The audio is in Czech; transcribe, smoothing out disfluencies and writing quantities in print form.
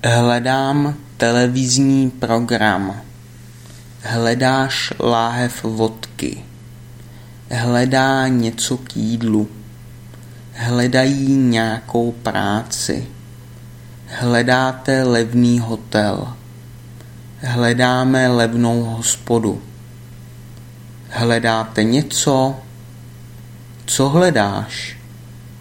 Hledám televizní program. Hledáš láhev vodky. Hledá něco k jídlu. Hledají nějakou práci. Hledáte levný hotel. Hledáme levnou hospodu. Hledáte něco? Co hledáš?